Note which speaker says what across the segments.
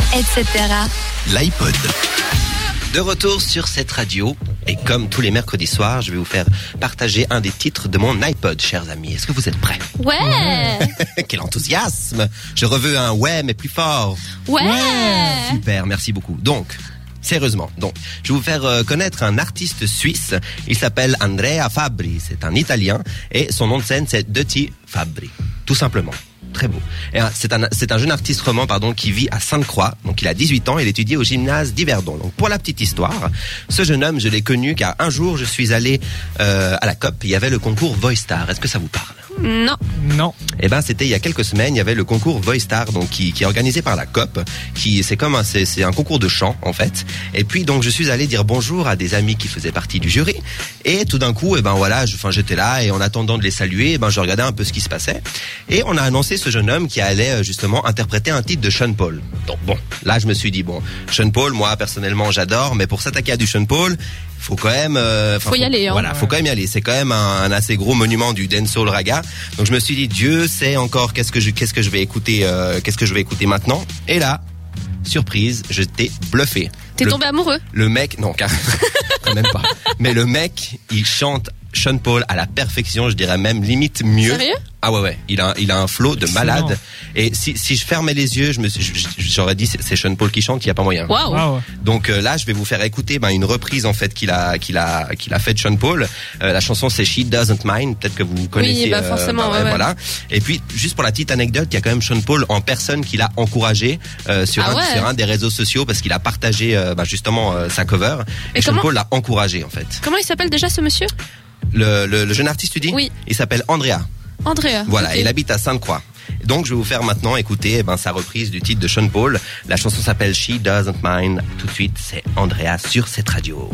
Speaker 1: etc.
Speaker 2: L'iPod. De retour sur cette radio, et comme tous les mercredis soirs, je vais vous faire partager un des titres de mon iPod, chers amis. Est-ce que vous êtes prêts?
Speaker 1: Ouais.
Speaker 2: Quel enthousiasme! Je reveux un ouais, mais plus fort.
Speaker 1: Ouais.
Speaker 2: Super, merci beaucoup. Donc, sérieusement, je vais vous faire connaître un artiste suisse. Il s'appelle Andrea Fabbri. C'est un Italien et son nom de scène c'est Dirty Fabbri, tout simplement. Très beau. Et c'est un jeune artiste roman, qui vit à Sainte-Croix. Donc il a 18 ans, il étudie au gymnase d'Yverdon. Donc pour la petite histoire, ce jeune homme, je l'ai connu car un jour je suis allé à la COP, il y avait le concours Voice Star. Est-ce que ça vous parle?
Speaker 3: Non.
Speaker 2: Eh ben c'était il y a quelques semaines, il y avait le concours Voice Star donc qui est organisé par la COP, c'est un concours de chant en fait. Et puis donc je suis allé dire bonjour à des amis qui faisaient partie du jury et tout d'un coup j'étais là et en attendant de les saluer, je regardais un peu ce qui se passait et on a annoncé ce jeune homme qui allait justement interpréter un titre de Sean Paul. Donc là je me suis dit Sean Paul, moi personnellement j'adore, mais pour s'attaquer à du Sean Paul, faut quand même
Speaker 1: faut y aller.
Speaker 2: Voilà, faut quand même y aller. C'est quand même un assez gros monument du dancehall raga. Donc je me suis dit Dieu sait encore qu'est-ce que je vais écouter maintenant. Et là, surprise, je t'ai bluffé.
Speaker 1: T'es tombé amoureux?
Speaker 2: Le mec, non, quand même pas. Mais le mec, il chante Sean Paul à la perfection, je dirais même limite mieux.
Speaker 1: Sérieux?
Speaker 2: Ah ouais, il a un flow de malade. Et si je fermais les yeux, j'aurais dit c'est Sean Paul qui chante, il y a pas moyen.
Speaker 1: Wow.
Speaker 2: Donc là, je vais vous faire écouter une reprise en fait qu'il a fait de Sean Paul. La chanson c'est She Doesn't Mind, peut-être que vous connaissez.
Speaker 1: Oui, forcément. Ouais.
Speaker 2: Voilà. Et puis juste pour la petite anecdote, il y a quand même Sean Paul en personne qui l'a encouragé sur un des réseaux sociaux parce qu'il a partagé justement sa cover. Et Sean Paul l'a encouragé en fait.
Speaker 1: Comment il s'appelle déjà ce monsieur?
Speaker 2: Le jeune artiste, tu dis?
Speaker 1: Oui.
Speaker 2: Il s'appelle Andrea. Voilà,
Speaker 1: okay.
Speaker 2: Il habite à Sainte-Croix. Donc je vais vous faire maintenant écouter sa reprise du titre de Sean Paul. La chanson s'appelle She Doesn't Mind. Tout de suite, c'est Andrea sur cette radio.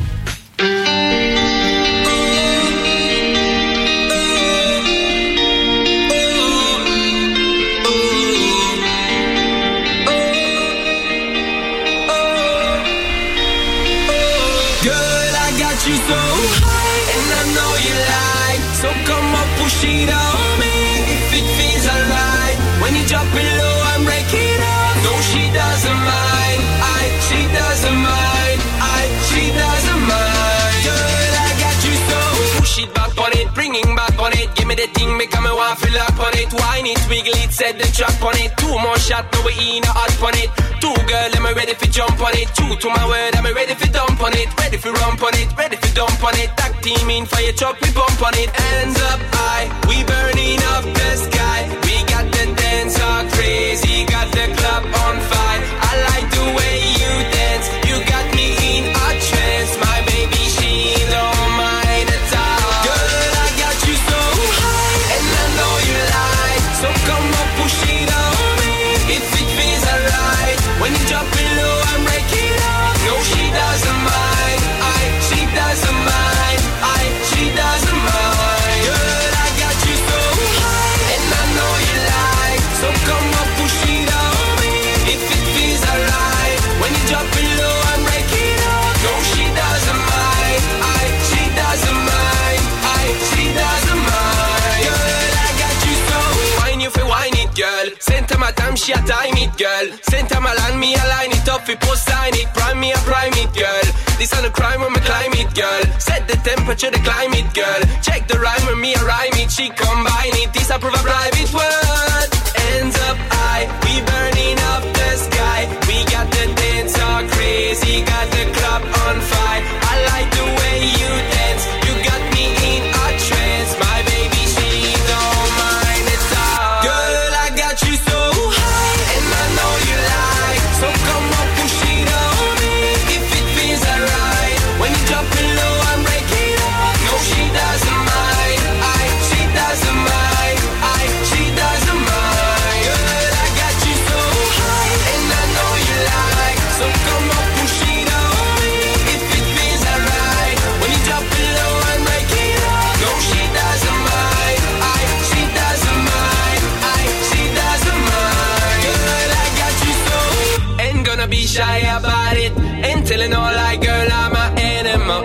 Speaker 4: Girl, I got you so high, and I know you like. So come on, push it on me. If it feels alright, when you drop it low, I'm breaking up. No, she doesn't mind. She doesn't mind. She doesn't mind. Girl, I got you so. Push it back on it, bringing back on it. Give me the thing, make me want to fill up on it. Wine it, wiggle it, set the trap on it. 2 more shots, now we in a hot on it. 2 girl, am I ready for jump on it? 2 to my word, am I ready for dump on it? Ready for rump on it, ready for dump on it. Tag team in fire truck, we bump on it. Hands up high, we burning up the sky. We got the dance all crazy, got the club on fire. I like the way you dance, you got me in a trance. My baby, she don't mind at all. Girl, I got you so high, and I know you like. So come on, push it on me, if it feels alright. When you drop it low, I'm breaking up. No, she doesn't mind. She doesn't mind. She doesn't mind. Girl, I got you so high, and I know you like. So come on, push it on me, if it feels alright. When you drop it low, I'm breaking up. No, she doesn't mind. She doesn't mind. She doesn't mind. Girl, I got you so. Wine you for wine it, girl. Center my time, she a time it, girl. Center my land, me align it up, we post sign it. Prime me a prime it, girl. This on a crime when me climb it, girl. Set the temperature, the climate, girl. Check the rhyme when me a rhyme it. She combine it, this I prove a private word. Hands up high, we burning up the sky. We got the dance all crazy, got the club on fire. I like the way you dance, you got me in a trance. My baby, she don't mind at all. Girl, I got you so high, and I know you like. So come on, push it on me, if it feels alright. When you drop it low, I'm breaking up. No, she doesn't mind. She doesn't mind. She doesn't mind. Girl, I got you so high, and I know you like. So come on, push it on me, if it feels alright. When you drop it low, I'm breaking up. No, she doesn't mind. She doesn't mind. She doesn't mind. Girl, I got you so. Ain't gonna be shy about it. Ain't telling all like, girl, I'm an animal.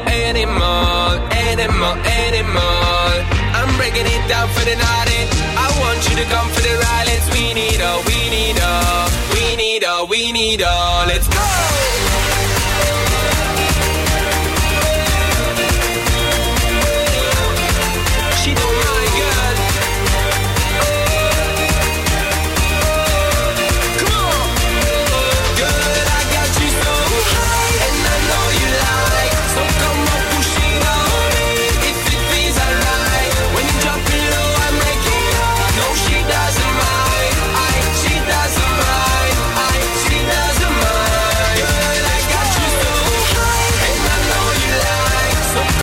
Speaker 4: I'm breaking it down for the naughty. I want you to come for the ride. We need need all, let's go.